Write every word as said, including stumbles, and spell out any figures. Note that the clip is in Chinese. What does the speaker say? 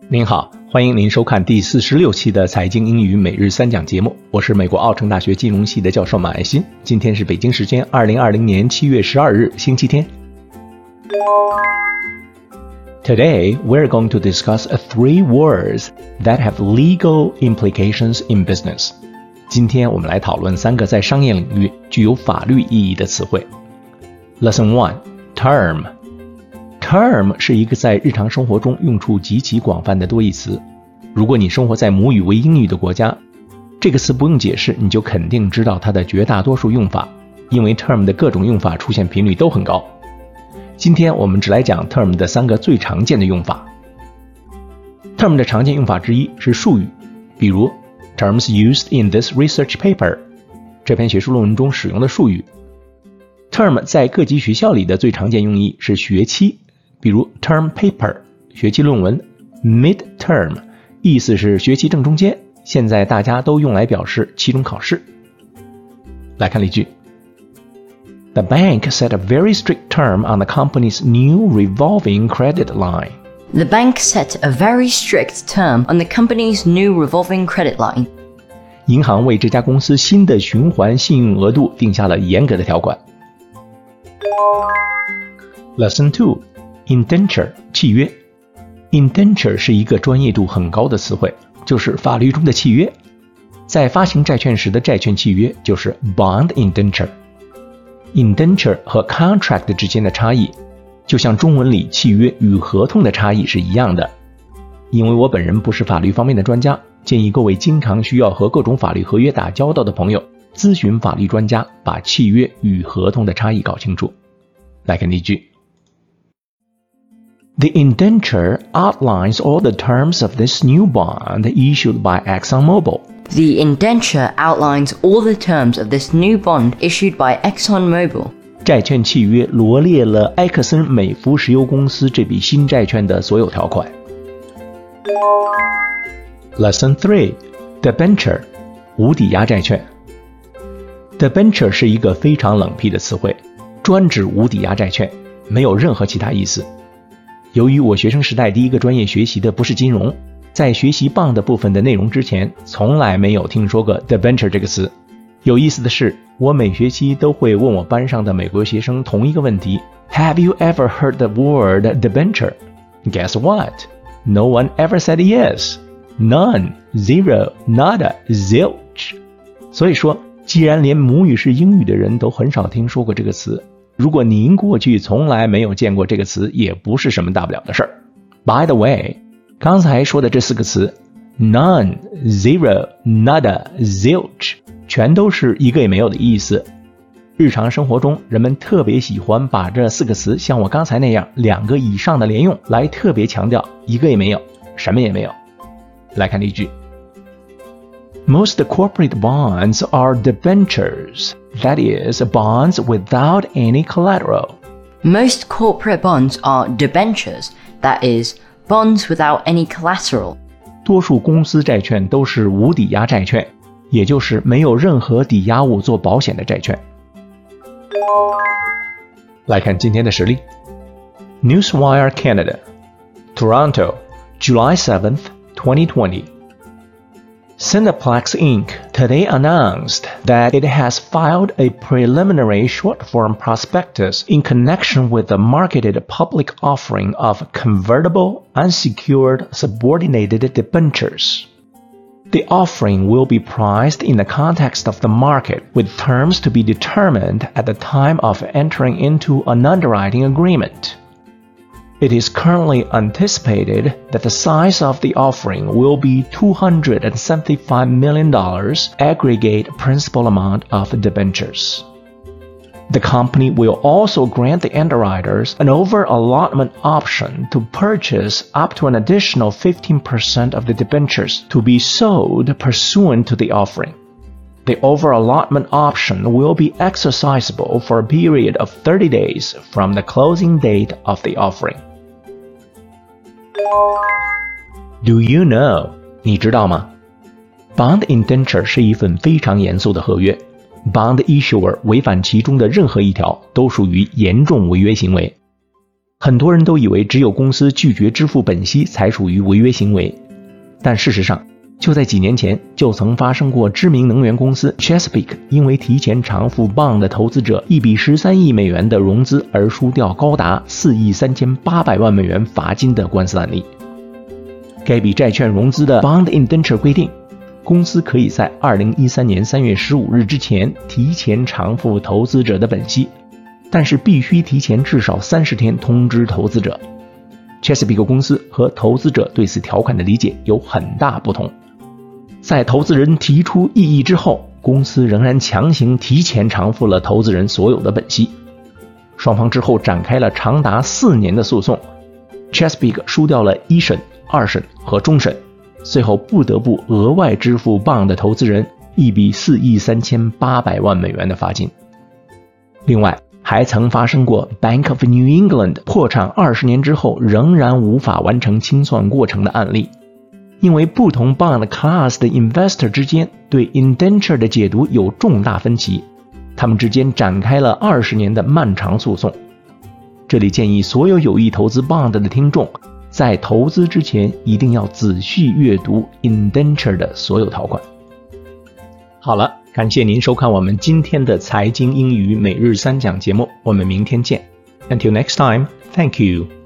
您好，欢迎您收看第四十六期的财经英语每日三讲节目，我是美国奥城大学金融系的教授马爱新。今天是北京时间二零二零年七月十二日星期天。Today, we're going to discuss three words that have legal implications in business. 今天我们来讨论三个在商业领域具有法律意义的词汇。Lesson one, term.Term 是一个在日常生活中用处极其广泛的多义词。如果你生活在母语为英语的国家，这个词不用解释，你就肯定知道它的绝大多数用法，因为 term 的各种用法出现频率都很高。今天我们只来讲 term 的三个最常见的用法。term 的常见用法之一是术语，比如 terms used in this research paper 这篇学术论文中使用的术语。term 在各级学校里的最常见用意是学期，比如 term paper 学期论文， midterm 意思是学期正中间，现在大家都用来表示期中考试。来看例句。The bank set a very strict term on the company's new revolving credit line. The bank set a very strict term on the company's new revolving credit line. 银行为这家公司新的循环信用额度定下了严格的条款。Lesson two, Indenture 契约。 Indenture 是一个专业度很高的词汇，就是法律中的契约。在发行债券时的债券契约就是 Bond Indenture。Indenture 和 Contract 之间的差异，就像中文里契约与合同的差异是一样的。因为我本人不是法律方面的专家，建议各位经常需要和各种法律合约打交道的朋友，咨询法律专家，把契约与合同的差异搞清楚。来看例句。The indenture outlines all the terms of this new bond issued by ExxonMobil. The indenture outlines all the terms of this new bond issued by ExxonMobil. 债券契约罗列了埃克森美孚石油公司这笔新债券的所有条款。Lesson three, Debenture 无抵押债券。Debenture 是一个非常冷僻的词汇，专指无抵押债券，没有任何其他意思。由于我学生时代第一个专业学习的不是金融，在学习 bond 的部分的内容之前，从来没有听说过 debenture 这个词。有意思的是，我每学期都会问我班上的美国学生同一个问题 Have you ever heard the word debenture? Guess what? No one ever said yes. None, zero, nada, zilch. 所以说，既然连母语是英语的人都很少听说过这个词，如果您过去从来没有见过这个词，也不是什么大不了的事儿。By the way, 刚才说的这四个词 None, Zero, Nada, Zilch 全都是一个也没有的意思。日常生活中，人们特别喜欢把这四个词像我刚才那样两个以上的连用，来特别强调一个也没有，什么也没有。来看例句。Most corporate bonds are debentures, that is, bonds without any collateral. Most corporate bonds are debentures, that is, bonds without any collateral. 多数公司债券都是无抵押债券，也就是没有任何抵押物做保险的债券。来看今天的实例。Newswire Canada, Toronto, July seventh, twenty twenty.Cineplex Incorporated today announced that it has filed a preliminary short-form prospectus in connection with the marketed public offering of convertible, unsecured, subordinated debentures. The offering will be priced in the context of the market, with terms to be determined at the time of entering into an underwriting agreement.It is currently anticipated that the size of the offering will be two hundred seventy-five million dollars aggregate principal amount of debentures. The company will also grant the underwriters an over-allotment option to purchase up to an additional fifteen percent of the debentures to be sold pursuant to the offering.The over-allotment option will be exercisable for a period of thirty days from the closing date of the offering. Do you know? 你知道吗？ Bond Indenture 是一份非常严肃的合约。Bond Issuer 违反其中的任何一条都属于严重违约行为。 很多人都以为只有公司拒绝支付本息才属于违约行为，但事实上，就在几年前就曾发生过知名能源公司 Chesapeake 因为提前偿付 bond 投资者一笔十三亿美元的融资而输掉高达四亿三千八百万美元罚金的官司案例。该笔债券融资的 bond indenture 规定，公司可以在二零一三年三月十五日之前提前偿付投资者的本息，但是必须提前至少三十天通知投资者。Chesapeake 公司和投资者对此条款的理解有很大不同。在投资人提出异议之后，公司仍然强行提前偿付了投资人所有的本息。双方之后展开了长达四年的诉讼， Chesapeake 输掉了一审、二审和终审，最后不得不额外支付 bond 投资人一笔四亿三千八百万美元的罚金。另外，还曾发生过 Bank of New England 破产二十年之后仍然无法完成清算过程的案例。因为不同 bond class 的 investor 之间对 indenture 的解读有重大分歧，他们之间展开了二十年的漫长诉讼。这里建议所有有意投资 bond 的听众，在投资之前一定要仔细阅读 indenture 的所有条款。好了，感谢您收看我们今天的财经英语每日三讲节目，我们明天见。Until next time, thank you.